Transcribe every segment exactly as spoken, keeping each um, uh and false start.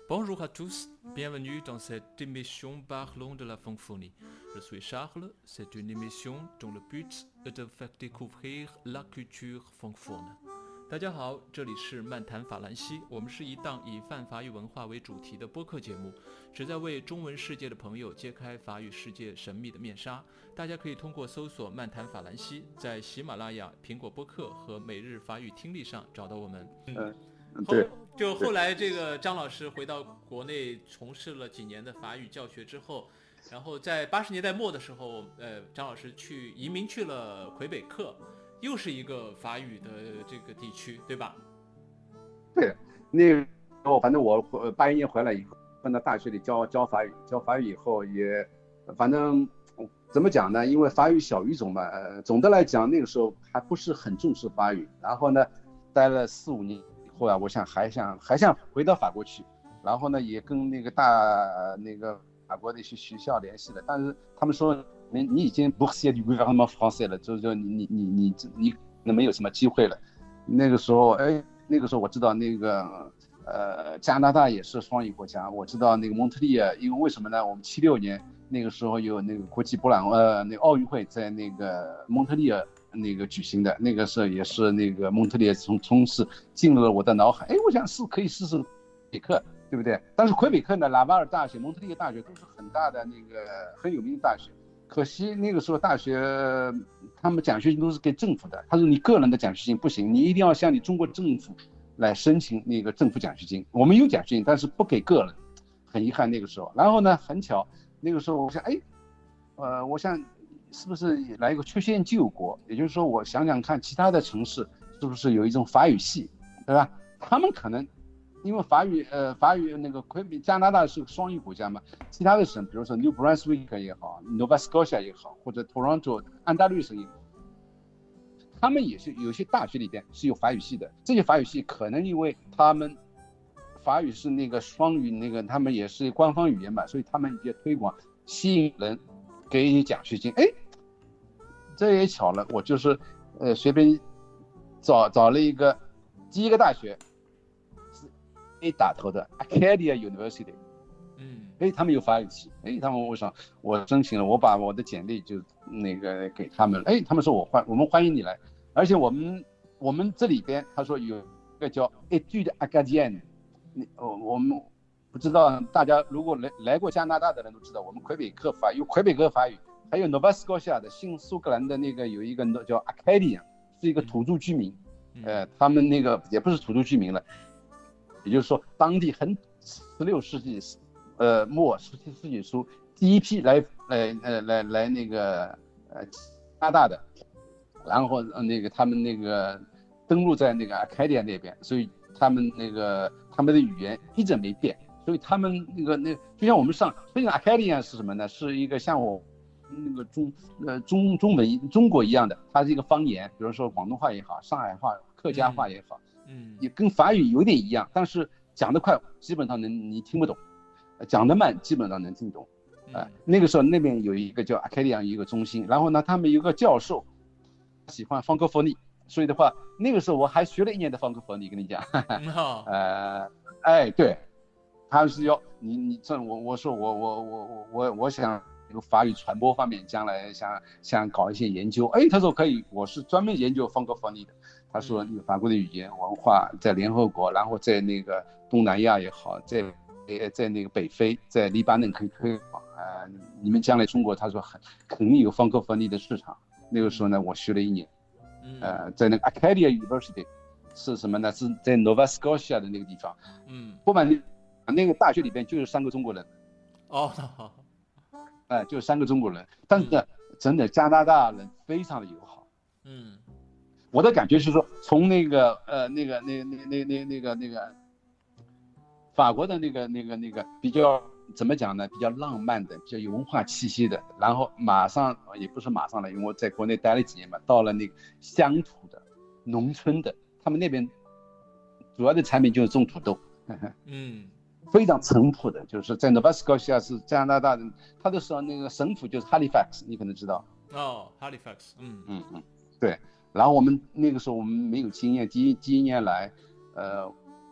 Bonjour à tous, bienvenue dans cette émission Parlons de la francophonie. Je suis Charles, c'est une émission dont le but est de faire découvrir la culture francophone. 大家好，这里是漫谈法兰西，我们是一档以泛法语文化为主题的播客节目，旨在为中文世界的朋友揭开法语世界神秘的面纱。大家可以通过搜索漫谈法兰西，在喜马拉雅、苹果播客和每日法语听力上找到我们。 嗯，对。 就后来这个张老师回到国内从事了几年的法语教学之后，然后在八十年代末的时候，呃，张老师去移民去了魁北克，又是一个法语的这个地区，对吧？ 对，那个时候反正我八一年回来以后，放到大学里教教法语，教法语以后也，反正怎么讲呢？因为法语小语种嘛，呃，总的来讲那个时候还不是很重视法语。然后呢，待了四五年。后来我想还想还想回到法国去，然后呢也跟那个大那个法国的一些学校联系了，但是他们说你你已经 boursier du gouvernement français 了，就是说你你你你你你没有什么机会了。那个时候哎，那个时候我知道那个呃加拿大也是双语国家，我知道那个蒙特利尔，因为为什么呢？我们七六年那个时候有那个国际博览呃那个奥运会在那个蒙特利尔。那个举行的那个时候也是那个蒙特利尔从从事进入了我的脑海，哎，我想是可以试试魁北克，对不对？但是魁北克呢，拉瓦尔大学、蒙特利尔大学都是很大的那个很有名的大学，可惜那个时候大学他们奖学金都是给政府的，他说你个人的奖学金不行，你一定要向你中国政府来申请那个政府奖学金。我们有奖学金，但是不给个人，很遗憾那个时候。然后呢，很巧，那个时候我想，哎，呃，我想。是不是来一个曲线救国？也就是说，我想想看，其他的城市是不是有一种法语系，对吧？他们可能因为法语，呃，法语那个魁北加拿大是个双语国家嘛，其他的省，比如说 New Brunswick 也好 ，Nova Scotia 也好，或者 Toronto 安大略省也好，他们也是有些大学里边是有法语系的。这些法语系可能因为他们法语是那个双语，那个他们也是官方语言嘛，所以他们也推广，吸引人。给你奖学金，哎，这也巧了，我就是呃随便找找了一个第一个大学是 A 打头的 Acadia University， 嗯，哎，他们有法语系，哎，他们为啥我申请了，我把我的简历就那个给他们了，哎，他们说我欢我们欢迎你来，而且我们我们这里边他说有一个叫 Études Acadiennes， 我我们。不知道大家如果来来过加拿大的人都知道，我们魁北克法有魁北克法语，还有 Nova Scotia 的新苏格兰的那个有一个叫 Acadian， 是一个土著居民，呃，他们那个也不是土著居民了，也就是说当地很十六世纪呃末十七世纪初第一批来来呃来来那个呃加拿大的，然后那个他们那个登陆在那个 Acadian 那边，所以他们那个他们的语言一直没变。所以他们那个那就像我们上，所以 Acadian 是什么呢？是一个像我那个中呃中中文中国一样的，它是一个方言，比如说广东话也好，上海话、客家话也好，嗯，也跟法语有点一样，但是讲得快，基本上能你听不懂；讲得慢，基本上能听懂。啊、呃，那个时候那边有一个叫 Acadian 一个中心，然后呢，他们有个教授喜欢方克佛尼，所以的话，那个时候我还学了一年的方克佛尼，跟你讲，呃，哎，对。他是要你你这我我说我我我我我我想这个法语传播方面将来想想搞一些研究，哎，他说可以，我是专门研究方克佛尼的。他说法国的语言文化在联合国，然后在那个东南亚也好，在在那个北非，在黎巴嫩可以推广啊、呃。你们将来中国，他说很肯定有方克佛尼的市场。那个时候呢，我学了一年，呃，在那个 Acadia University 是什么呢？是在 Nova Scotia 的那个地方，嗯，不瞒。那个大学里边就有三个中国人， 哦， 哎、呃，就三个中国人，但是呢，嗯、真的加拿大人非常的友好，嗯，我的感觉是说，从那个呃那个那那那那那个那个法国的那个那个那个比较怎么讲呢？比较浪漫的，比较有文化气息的，然后马上也不是马上了，因为我在国内待了几年嘛，到了那个乡土的、农村的，他们那边主要的产品就是种土豆，呵呵嗯。非常淳朴的，就是在 Nova Scotia 是加拿大人，他的时候那个省府就是 Halifax， 你可能知道。 哦 ，Halifax， 嗯嗯嗯，对。然后我们那个时候我们没有经验，第一第一年来，呃，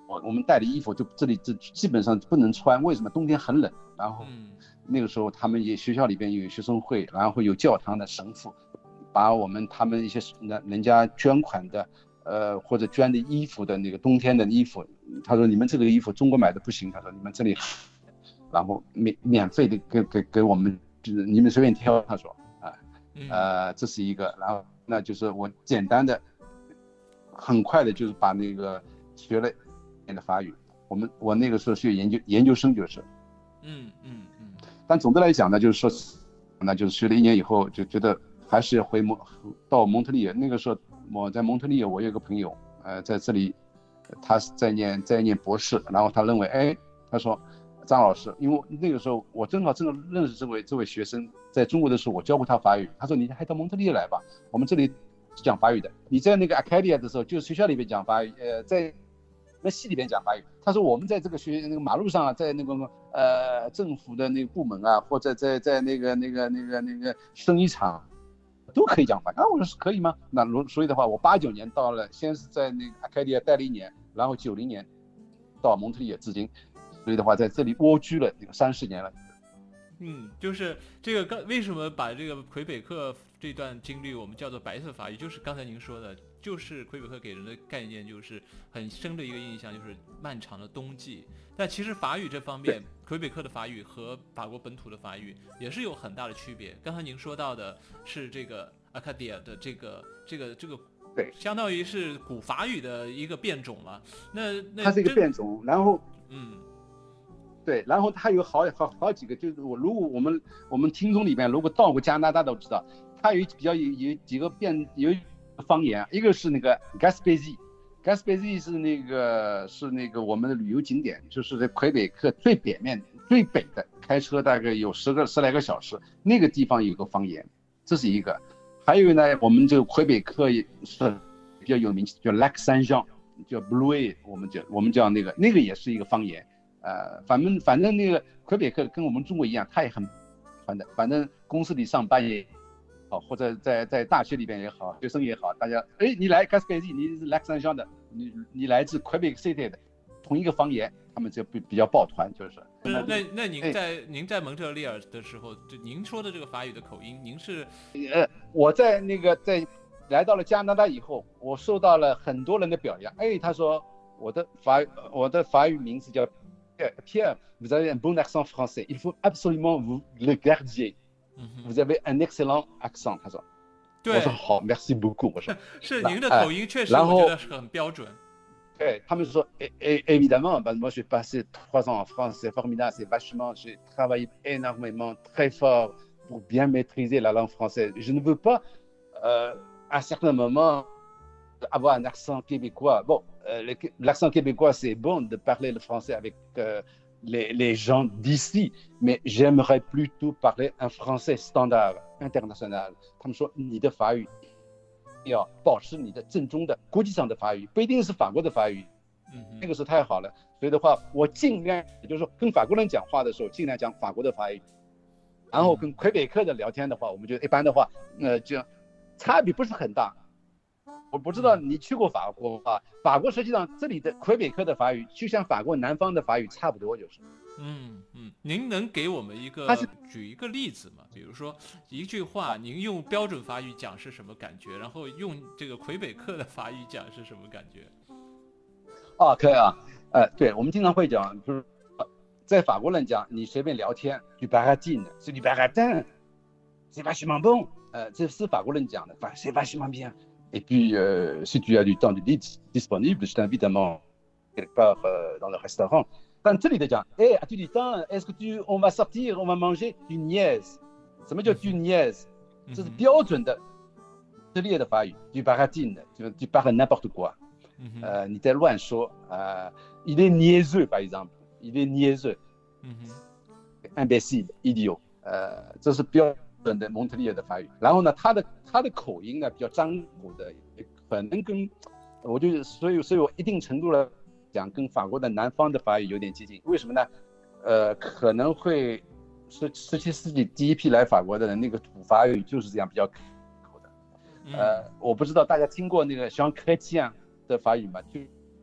我我们带的衣服就这里这基本上不能穿，为什么？冬天很冷。然后那个时候他们也学校里边有学生会，然后有教堂的神父，把我们他们一些人人家捐款的，呃或者捐的衣服的那个冬天的衣服，他说你们这个衣服中国买的不行，他说你们这里，然后免免费的给给给我们，就是你们随便挑，他说啊，呃这是一个，然后那就是我简单的，很快的就是把那个学了一年的法语，我们我那个时候学研究研究生就是，嗯嗯嗯，但总的来讲呢，就是说，那就是学了一年以后就觉得还是回蒙到蒙特利尔，那个时候我在蒙特利尔，我有个朋友，呃在这里，他在念在念博士，然后他认为，哎，他说张老师，因为那个时候我正好正好认识这位这位学生，在中国的时候我教过他法语，他说你还到蒙特利尔来吧，我们这里讲法语的，你在那个 Acadia 的时候，就是学校里面讲法语，呃，在那系里面讲法语。他说我们在这个学那个马路上啊，在那个呃政府的那个部门啊，或者在在那个那个那个那个生意场，都可以讲法语。啊，我说是可以吗？那所以的话，我八九年到了，先是在那个 Acadia 待了一年，然后九零年到蒙特利尔至今，所以的话在这里蜗居了那个三十年了。 嗯，就是这个刚为什么把这个魁北克这段经历我们叫做白色法语，就是刚才您说的，就是魁北克给人的概念就是很深的一个印象，就是漫长的冬季。但其实法语这方面，魁北克的法语和法国本土的法语也是有很大的区别。刚才您说到的是这个 Acadia 的这个这个这个， 对， 相当于是古法语的一个变种了。那那它是一个变种，然后嗯。 对，然后它有好好好几个，就是我如果我们我们听众里面如果到过加拿大都知道，它有比较有有几个变有方言，一个是那个 Gaspésie，Gaspésie 是那个是那个我们的旅游景点，就是在魁北克最北面最北的，开车大概有十个十来个小时，那个地方有个方言，这是一个。还有呢，我们这个魁北克是比较有名，叫 Lac Saint-Jean， 叫 Blouet， 我们叫我们叫那个那个也是一个方言。呃，反正反正那个魁北克跟我们中国一样，他也很传的。反正公司里上班也好，或者在在大学里边也好，学生也好，大家哎，你来 Gaspésie， 你是 Lac Saint-Jean 的，你你来自魁北克 City 的，同一个方言，他们就比比较抱团，就是。 那那那您在、哎、您在蒙特利尔的时候，就您说的这个法语的口音，您是呃，我在那个在来到了加拿大以后，我受到了很多人的表扬。哎，他说我的法我的法语名字叫。Pierre, vous avez un bon accent français. Il faut absolument vous le garder. Mm-hmm. Vous avez un excellent accent. 他说，我说好 ，merci beaucoup。我说是您的口音确实，我觉得是很标准。 对，他们说，évidemment, bah, moi j'ai passé trois ans en France, c'est formidable, c'est vachement, j'ai travaillé énormément, très fort pour bien maîtriser la langue française. Je ne veux pas, euh, à certains moments, avoir un accent québécois. Bon. Euh, l'accent québécois, c'est bon de parler le français avec euh, les, les gens d'ici, mais j'aimerais plutôt parler un français standard, international. 他们说你的法语要保持你的正宗的国际上的法语，不一定是法国的法语。嗯，那个是太好了。所以的话，我尽量，也就是说，跟法国人讲话的时候，尽量讲法国的法语。然后跟魁北克的聊天的话，我们就一般的话，呃，就差别不是很大。我不知道你去过法国啊？法国实际上这里的魁北克的法语就像法国南方的法语差不多，就是。 嗯嗯，您能给我们一个举一个例子吗？比如说一句话，您用标准法语讲是什么感觉，然后用这个魁北克的法语讲是什么感觉？ 哦，可以啊，呃，对，我们经常会讲，就是在法国人讲，你随便聊天 ，du baratin， c'est du baratin， c'est vachement bon， 呃，这是法国人讲的，反正 c'est vachement bien。Et puis, euh, si tu as du temps disponible, je t'invite à manger quelque part euh, dans le restaurant. 但这里的讲，哎 ，as-tu du temps? Est-ce que tu, on va sortir, on va manger du niaise? 什么叫 du niaise? 这是标准的这里的法语 ，du baratin， 就 tu parles n'importe quoi. 呃，你在乱说，呃 ，il est niaiseux par exemple, il est niaiseux, imbécile, idiot. 呃，这是标准的蒙特利尔的法语。然后呢，他的他的口音呢比较张口的，可能跟我就所以所以我一定程度了讲跟法国的南方的法语有点接近。为什么呢？呃，可能会十十七世纪第一批来法国的人，那个土法语就是这样比较口的。呃，我不知道大家听过那个像克基安的法语吗？就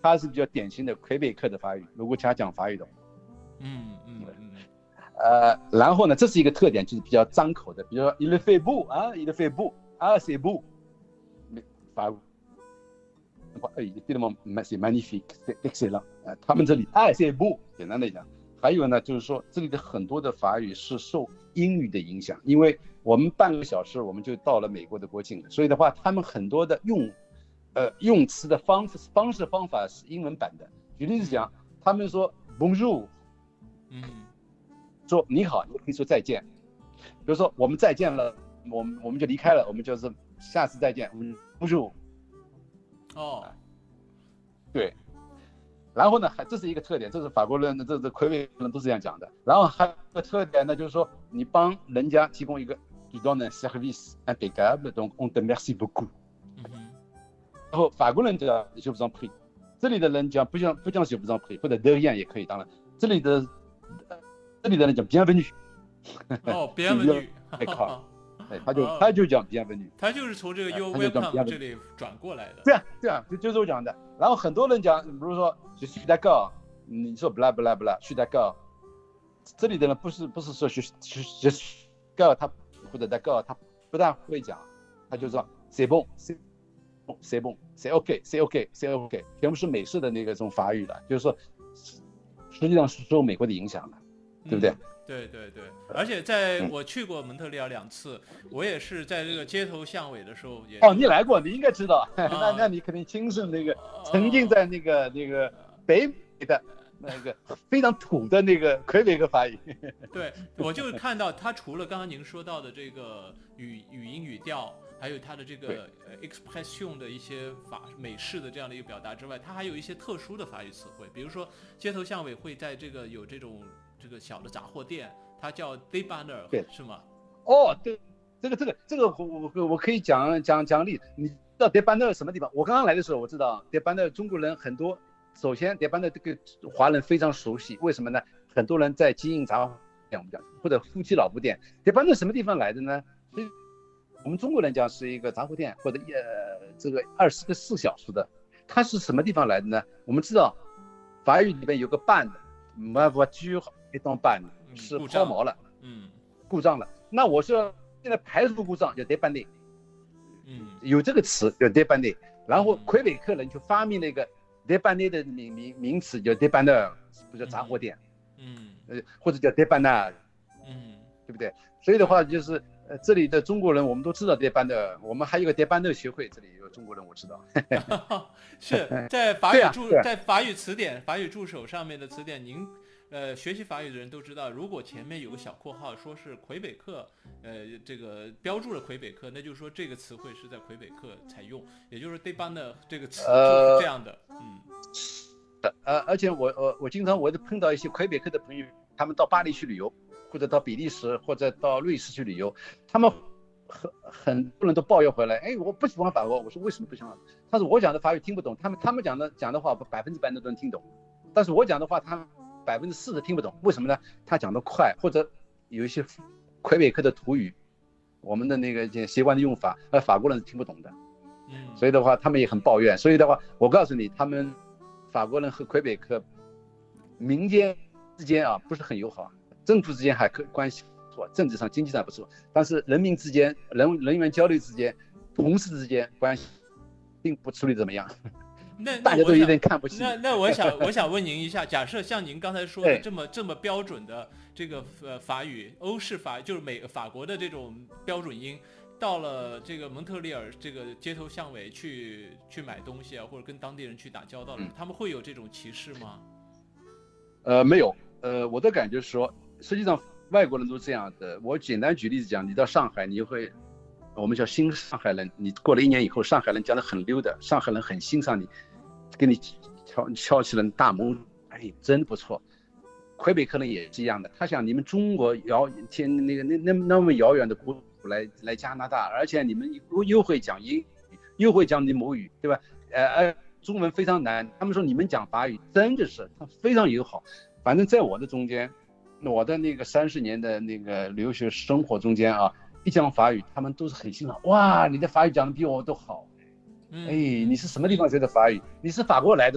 它是比较典型的魁北克的法语，如果他讲法语的话。 嗯嗯嗯。 呃，然后呢，这是一个特点，就是比较张口的，比如说 il fait beau 啊 il fait beau 啊 c'est beau， 法语。c'est magnifique c'est excellent， 他们这里啊 c'est beau， 简单的讲。还有呢，就是说这里的很多的法语是受英语的影响，因为我们半个小时我们就到了美国的国境了，所以的话，他们很多的用，呃，用词的方式方式方法是英文版的。举例子讲，他们说 bonjour， 嗯， 说你好，你可以说再见。比如说我们再见了，我们我们就离开了，我们就是下次再见 bonjour。 哦， 对。然后呢，还这是一个特点，这是法国人，这这魁北克人都是这样讲的。然后还有一个特点呢，就是说你帮人家提供一个 tu donnes un service impeccable donc on te merci beaucoup。然后法国人讲 je vous en prie， 这里的人讲不讲不讲 je vous en prie， 或者 de rien 也可以，当然这里的这里的人讲 bienvenue。 哦 ，bienvenue， 哎，他就他就讲 bienvenue， 他就是从这个 you welcome 这里转过来的。 对啊，对啊，就就是我讲的。然后很多人讲，比如说 je suis d'accord， 你说 bla bla bla， je suis d'accord， 这里的人不是不是说 je je suis d'accord， 他或者 d'accord， 他不但会讲，他就说 c'est bon c'est bon c'est bon c'est ok c'est ok c'est ok， 全部是美式的那个这种法语了，就是说实际上是受美国的影响的，对不对？ 嗯，对对对，而且在我去过蒙特利尔两次，我也是在这个街头巷尾的时候也。 哦，你来过，你应该知道，啊、那那你肯定亲身那个沉浸在那个、啊、那个北美的那个非常土的那个魁北克法语。 对，我就看到他除了刚刚您说到的这个语语音语调，还有他的这个 expression 的一些法美式的这样的一个表达之外，他还有一些特殊的法语词汇，比如说街头巷尾会在这个有这种。这个小的杂货店，它叫 débanneur， 是吗？ 哦，对，这个这个这个我我我可以讲讲讲例子。你知道 débanneur 什么地方？我刚刚来的时候我知道 débanneur 中国人很多。首先 débanneur 这个华人非常熟悉，为什么呢？很多人在经营杂货店，我们讲或者夫妻老婆店。débanneur 什么地方来的呢？所以我们中国人讲是一个杂货店或者呃这个二十四小时的，它是什么地方来的呢？我们知道法语里面有个半的 ma voiture一当半是抛锚了， 嗯， 故障了。那我说现在排除故障叫 dépanner， 嗯， 有这个词叫 dépanner。然后魁北克人就发明了一个 dépanner 的名名名词叫 débanneur， 不叫杂货店， 嗯， 呃或者叫 débanneur， 嗯， 对不对？所以的话就是呃这里的中国人我们都知道 débanneur， 我们还有个 débanneur 学会，这里有中国人我知道。 是在法语注、 啊啊、 在法语词典、法语助手上面的词典，您。呃，学习法语的人都知道，如果前面有个小括号说是魁北克，呃，这个标注了魁北克，那就是说这个词汇是在魁北克才用，也就是 débanneur 这个词就是这样的，呃、嗯。 呃，而且我我我经常我碰到一些魁北克的朋友，他们到巴黎去旅游，或者到比利时或者到瑞士去旅游，他们很很多人都抱怨回来，哎，我不喜欢法国，我说为什么不喜欢？他说我讲的法语听不懂，他们他们讲的讲的话百分之百都能听懂，但是我讲的话他们。百分之四十听不懂，为什么呢？他讲得快，或者有一些魁北克的土语，我们的那个习惯的用法，而法国人是听不懂的。 嗯， 所以的话，他们也很抱怨。所以的话，我告诉你，他们法国人和魁北克民间之间啊不是很友好，政府之间还可关系不错，政治上、经济上不错，但是人民之间、人人员交流之间、同事之间关系并不处理怎么样。 那大家都有点看不起。 那那我想我想问您一下，假设像您刚才说的这么这么标准的这个呃法语，欧式法就是美法国的这种标准音，到了这个蒙特利尔这个街头巷尾去去买东西啊，或者跟当地人去打交道的，嗯、他们会有这种歧视吗？ 呃，没有。呃，我的感觉是说，实际上外国人都这样的。我简单举例子讲，你到上海，你会。我们叫新上海人，你过了一年以后，上海人讲得很溜的，上海人很欣赏你，给你敲敲起了大拇，哎，真不错。魁北克人也是一样的，他想你们中国遥天那个那那那么遥远的国土来来加拿大，而且你们又又会讲英语，又会讲你母语，对吧？呃，中文非常难，他们说你们讲法语真的是他非常友好。反正在我的中间，我的那个三十年的那个留学生活中间啊。一讲法语，他们都是很欣赏。哇，你的法语讲的比我都好。哎，你是什么地方学的法语？你是法国来的吧？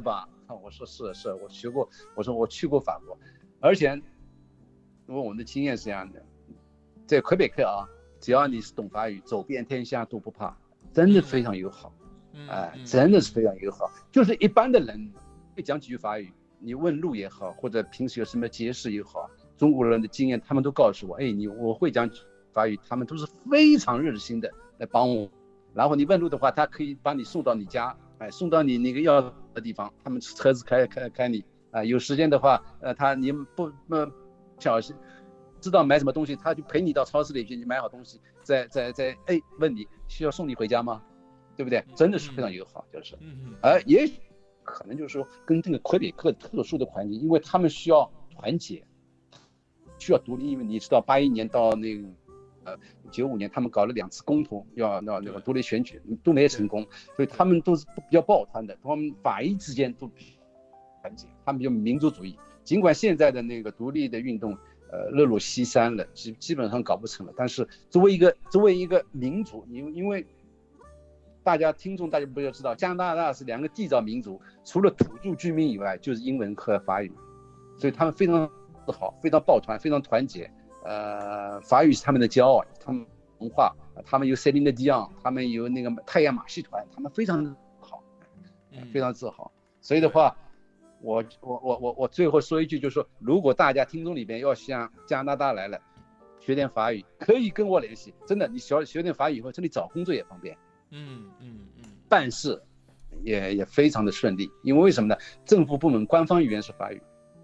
我说是是，我学过，我说我去过法国，而且因为我们的经验是这样的，在魁北克啊，只要你是懂法语，走遍天下都不怕，真的非常友好，哎、呃，真的是非常友好。就是一般的人会讲几句法语，你问路也好，或者平时有什么节事也好，中国人的经验，他们都告诉我，哎，你我会讲法语，他们都是非常热心的来帮我。然后你问路的话，他可以把你送到你家，哎，送到你那个要的地方，他们车子开开开你啊、呃。有时间的话，呃，他你不不小心知道买什么东西，他就陪你到超市里去，你买好东西，再再再哎问你需要送你回家吗？对不对？真的是非常友好，就是，而也可能就是说跟这个魁北克特殊的环境，因为他们需要团结，需要独立，因为你知道八一年到那个。呃，九五年他们搞了两次公投，要要那个独立选举都没成功，所以他们都是比较抱团的，他们法医之间都团结，他们比较民族主义。尽管现在的那个独立的运动，呃，日落西山了，基基本上搞不成了，但是作为一个作为一个民族，因因为大家听众大家不要知道，加拿大是两个缔造民族，除了土著居民以外，就是英文和法语，所以他们非常好，非常抱团，非常团结。呃，法语是他们的骄傲，他们文化，他们有 Céline Dion， 他们有那个太阳马戏团，他们非常好，非常自豪。所以的话，我我我我我最后说一句，就是说，如果大家听众里边要向加拿大来了，学点法语，可以跟我联系。真的，你学学点法语以后，这里找工作也方便， 嗯嗯嗯， 办事也也非常的顺利。因为为什么呢？政府部门官方语言是法语。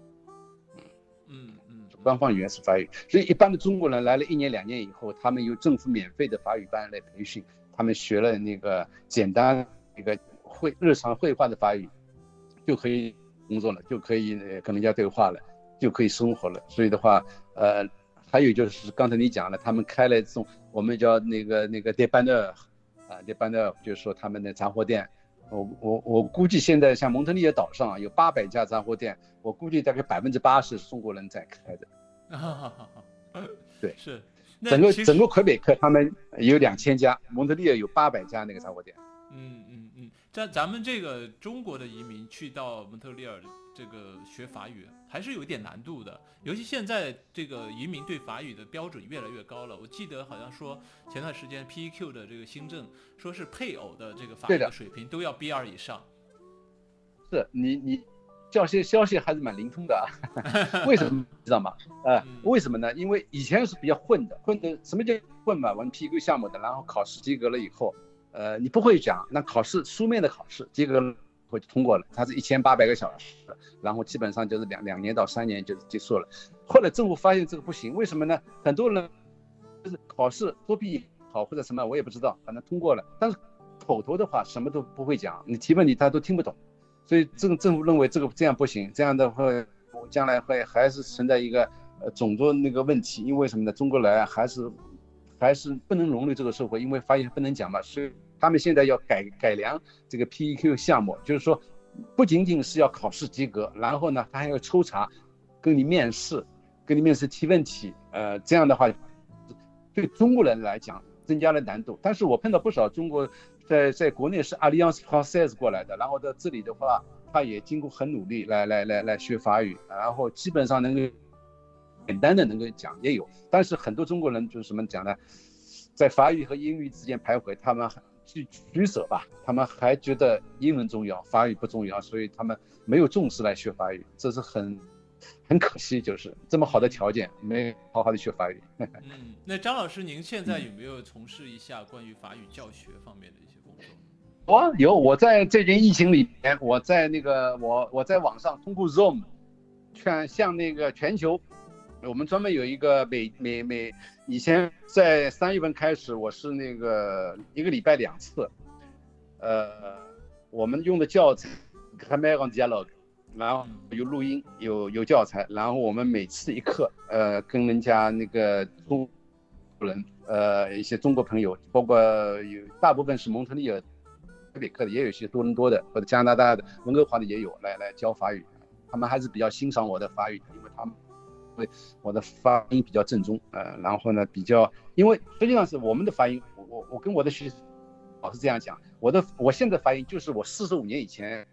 官方语言是法语，所以一般的中国人来了一年两年以后，他们有政府免费的法语班来培训，他们学了那个简单一个会日常会话的法语，就可以工作了，就可以跟人家对话了，就可以生活了。所以的话，呃，还有就是刚才你讲了，他们开了这种我们叫那个那个 dépanneur 啊 dépanneur， 就是说他们的杂货店。我我我估计现在像蒙特利尔岛上有八百家杂货店，我估计大概百分之八十是中国人在开的。对， 是整个整个魁北克他们有两千家，蒙特利尔有八百家那个杂货店。 嗯嗯嗯，咱咱们这个中国的移民去到蒙特利尔这个学法语还是有一点难度的，尤其现在这个移民对法语的标准越来越高了。我记得好像说前段时间 P E Q 的这个新政，说是配偶的这个法语的水平都要 B 二 以上。 是你你消息消息还是蛮灵通的啊，为什么知道吗？呃，为什么呢？因为以前是比较混的，混的什么叫混嘛？玩 P E Q 项目的，然后考试及格了以后，呃，你不会讲，那考试书面的考试及格了。就通过了，它是一千八百个小时，然后基本上就是两两年到三年就结束了。后来政府发现这个不行，为什么呢？很多人就是考试作弊好或者什么，我也不知道，反正通过了，但是口头的话什么都不会讲，你提问题他都听不懂，所以政政府认为这个这样不行，这样的话将来会还是存在一个呃种族那个问题，因为什么呢？中国来还是还是不能融入这个社会，因为发现不能讲嘛，所以。他们现在要改改良这个 P E Q 项目，就是说不仅仅是要考试及格，然后呢他还要抽查，跟你面试，跟你面试提问题，呃，这样的话对中国人来讲增加了难度。但是我碰到不少中国在在国内是 Alliance Française 过来的，然后在这里的话，他也经过很努力来来来来学法语，然后基本上能够简单的能够讲也有，但是很多中国人就是什么讲呢，在法语和英语之间徘徊，他们去取舍吧，他们还觉得英文重要，法语不重要，所以他们没有重视来学法语，这是很很可惜，就是这么好的条件没好好的学法语。 嗯，那张老师，您现在有没有从事一下关于法语教学方面的一些工作？ 我有，我在这件疫情里面，我在那个我我在网上通过 Zoom， 全向那个全球。我们专门有一个每每每以前在三月份开始，我是那个一个礼拜两次，呃，我们用的教材 Cameron Dialogue， 然后有录音，有有教材，然后我们每次一课，呃，跟人家那个中国人，呃，一些中国朋友，包括有大部分是蒙特利尔、魁北克的，也有一些多伦多的或者加拿大的、温哥华的也有来来教法语，他们还是比较欣赏我的法语，因为他们。因为我的发音比较正宗，呃，然后呢比较，因为实际上是我们的发音，我我我跟我的学老师这样讲，我的我现在发音就是我四十五年以前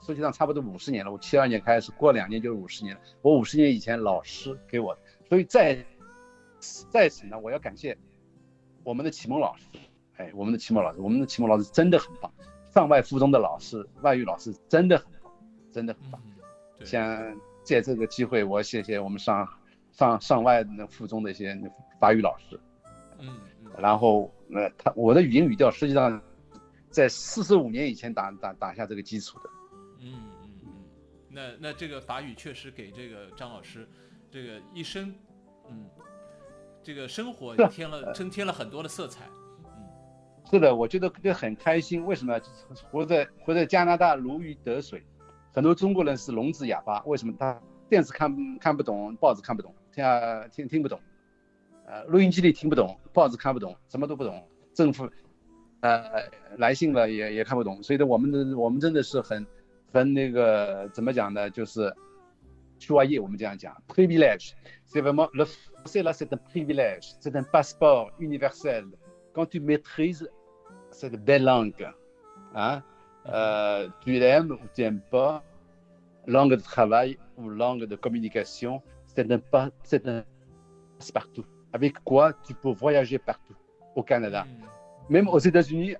实际上差不多五十年了。我七二年开始，过两年就是五十年了。我五十年以前老师给我的，所以在在此呢，我要感谢我们的启蒙老师。哎，我们的启蒙老师，我们的启蒙老师真的很棒。上外附中的老师，外语老师真的很棒，真的很棒。嗯、像借这个机会，我谢谢我们上上上外的附中的一些法语老师。 嗯嗯。 然后，呃，他我的语音语调实际上在四十五年以前打打打下这个基础的。 嗯嗯嗯。那那这个法语确实给这个张老师这个一生，嗯，这个生活添了增添了很多的色彩。 是的，我觉得就很开心。为什么？活在活在加拿大如鱼得水，很多中国人是聋子哑巴。为什么？他电视看看不懂，报纸看不懂，听听听不懂，呃，录音机里听不懂，报纸看不懂，什么都不懂。政府呃来信了也也看不懂。所以呢，我们的我们真的是很很那个怎么讲呢？就是choyer，我们这样讲 privilège。C'est vraiment le français là, c'est un privilège, c'est un passeport universel. Quand tu maîtrises cette belle langue, hein, euh, tu l'aimes ou tu n'aimes pas, langue de travail ou langue de communication, c'est un pas, c'est un passe-partout. Avec quoi tu peux voyager partout au Canada, même aux États-Unis.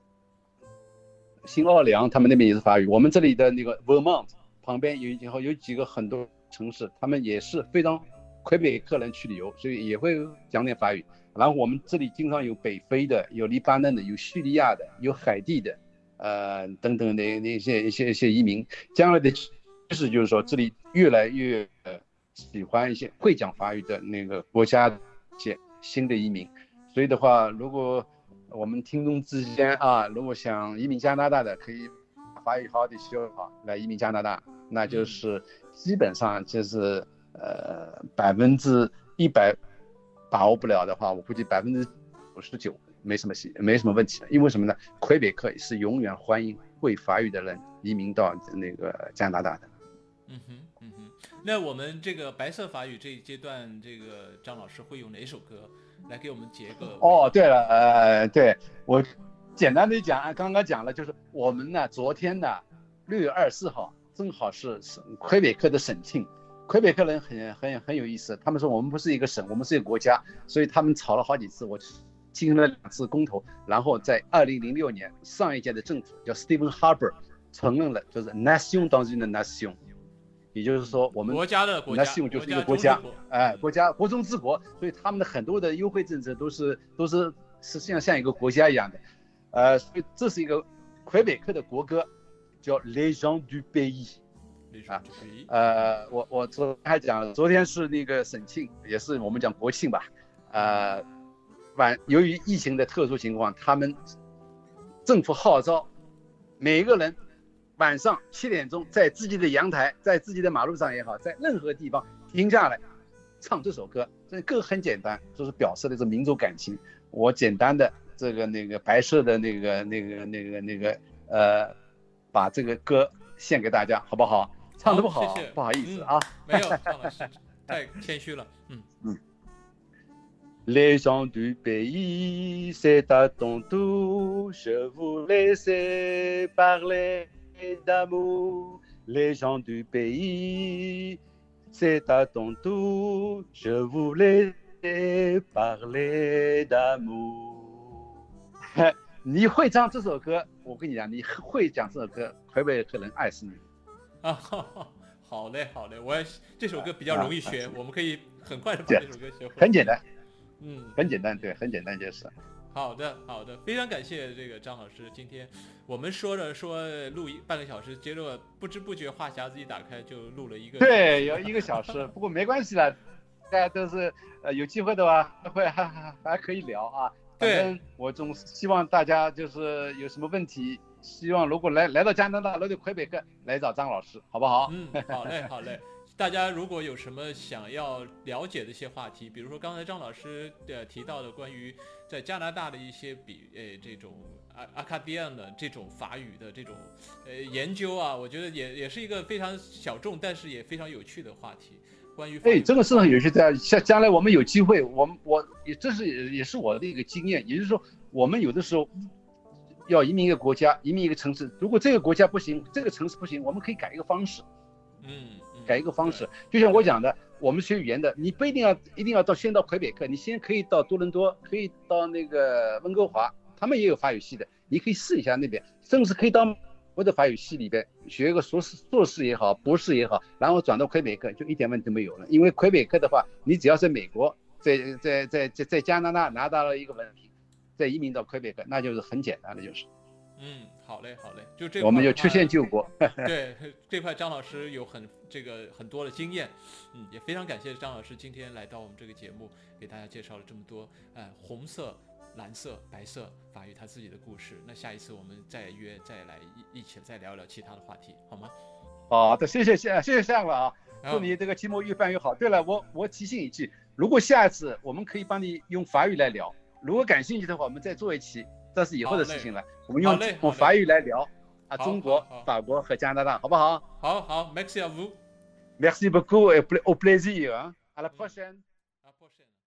新奥尔良他们那边也是法语，我们这里的那个 Vermont 旁边有以后有几个很多城市，他们也是非常魁北克人去旅游，所以也会讲点法语。然后我们这里经常有北非的，有黎巴嫩的，有叙利亚的，有海地的，呃，等等的那些一些一些移民。将来的趋势就是说，这里越来越呃喜欢一些会讲法语的那个国家一些新的移民。所以的话，如果我们听众之间啊，如果想移民加拿大的，可以把法语好好的学好来移民加拿大，那就是基本上就是呃百分之一百。把握不了的话，我估计百分之九十九没什么没什么问题的。因为什么呢？魁北克是永远欢迎会法语的人移民到那个加拿大的。 嗯哼，嗯哼。那我们这个白色法语这一阶段，这个张老师会用哪首歌来给我们结个？ 哦，对了，呃，对我简单的讲，刚刚讲了，就是我们呢，昨天呢，六月二十四号正好是魁北克的省庆。魁北克人很很很有意思，他们说我们不是一个省，我们是一个国家，所以他们吵了好几次，我进行了两次公投，然后在二零零六年上一届的政府叫 Stephen Harper 承认了，就是 nation dans une nation， 也就是说我们国家的国家 nation 就是一个国家，哎，国家国中之国，所以他们的很多的优惠政策都是都是实际上像一个国家一样的，呃，所以这是一个魁北克的国歌，叫 Les gens du pays。啊，呃，我我昨天还讲，昨天是那个省庆，也是我们讲国庆吧，呃，晚由于疫情的特殊情况，他们政府号召每一个人晚上七点钟在自己的阳台，在自己的马路上也好，在任何地方停下来唱这首歌，这歌很简单，就是表示的是民族感情。我简单的这个那个白色的那个那个那个那个呃，把这个歌献给大家，好不好？唱得不好， 谢谢， 不好意思啊。 嗯、没有，张老师太谦虚了。嗯嗯。Les gens du pays, c'est à ton tour, je vous laisse parler d'amour. Les gens du pays, c'est à ton tour, je vous laisse parler d'amour. 你会唱这首歌，我跟你讲，你会讲这首歌，魁北克人爱死你。 啊，好嘞，好嘞，我也这首歌比较容易学，啊、我们可以很快的把这首歌学会。 很简单， 嗯， 很简单，对，很简单就是。 好的，好的，非常感谢这个张老师，今天我们说着说录一半个小时，结果不知不觉话匣子一打开就录了一个， 对，有一个小时，不过没关系了，大家都是呃有机会的话，会还还还可以聊啊。 对， 我总希望大家就是有什么问题。希望如果来来到加拿大，来到魁北克，来找张老师，好不好？ 嗯，好嘞，好嘞。大家如果有什么想要了解的一些话题，比如说刚才张老师的提到的关于在加拿大的一些比呃这种阿阿卡迪安的这种法语的这种呃研究啊，我觉得也也是一个非常小众，但是也非常有趣的话题。关于哎，这个是很有趣的。像将来我们有机会，我们我也这是也是我的一个经验，也就是说，我们有的时候。 要移民一个国家，移民一个城市，如果这个国家不行，这个城市不行，我们可以改一个方式。 嗯，嗯改一个方式，就像我讲的，我们学语言的，你不一定要一定要到先到魁北克，你先可以到多伦多，可以到那个温哥华，他们也有法语系的，你可以试一下那边，甚至可以到我的法语系里边学一个硕士硕士也好，博士也好，然后转到魁北克，就一点问题都没有了。因为魁北克的话，你只要在美国，在在在在在加拿大拿到了一个文凭，再移民到魁北克，那就是很简单的，就是。 嗯，好嘞，好嘞，就这我们就曲线救国。 对，这块张老师有很这个很多的经验，嗯，也非常感谢张老师今天来到我们这个节目，给大家介绍了这么多，呃，红色、蓝色、白色法语他自己的故事。那下一次我们再约，再来一一起再聊聊其他的话题，好吗？ 好的，谢谢谢谢谢向了啊，祝你这个节目越办越好。对了，我我提醒一句，如果下一次我们可以帮你用法语来聊，如果感兴趣的话，我们再做一期。这是以后的事情了，我们用用法语来聊啊，中国、法国和加拿大，好不好？ 好好 ，Merci à vous， Merci beaucoup et au plaisir，à la prochaine。